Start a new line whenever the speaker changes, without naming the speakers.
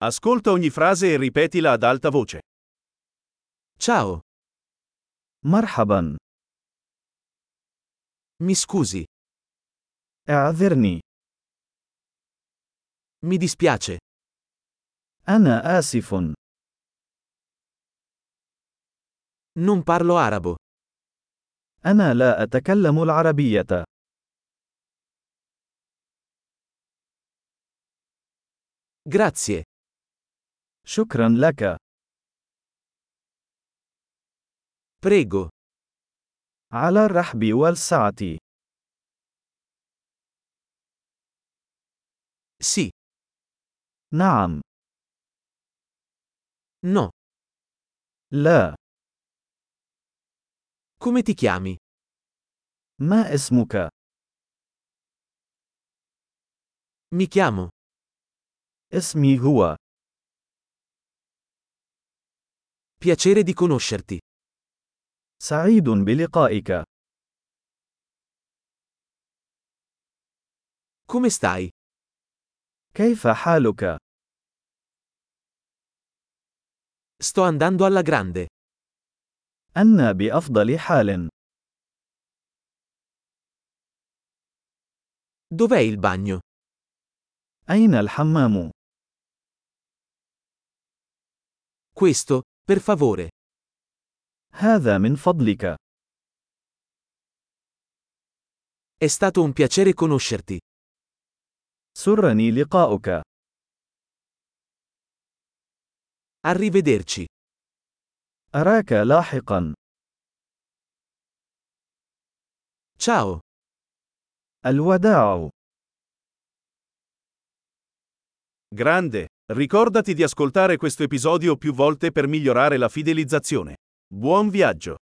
Ascolta ogni frase e ripetila ad alta voce.
Ciao,
مرحبا.
mi scusi,
اعذرني.
mi dispiace,
أنا آسف.
non parlo arabo.
أنا لا أتكلم العربية.
Grazie,
شكرا لك.
prego,
على الرحب والسعة.
sì,
نعم.
no.
لا.
Come ti chiami?
ما اسمك؟
Mi chiamo.
اسمي هو.
Piacere di conoscerti.
سعيد بلقائك.
Come stai?
كيف حالك؟
Sto andando alla grande.
أنا بأفضل حال.
Dov'è il bagno?
أين الحمام؟
Questo, per favore.
هذا من فضلك.
È stato un piacere conoscerti.
سرني لقاؤك.
Arrivederci.
أراك لاحقا.
Ciao.
الوداع.
Grande! Ricordati di ascoltare questo episodio più volte per migliorare la fidelizzazione. Buon viaggio!